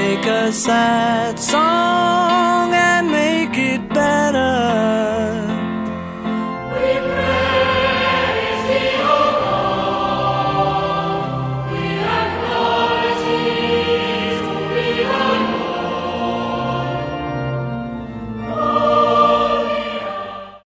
take a sad song and make it better.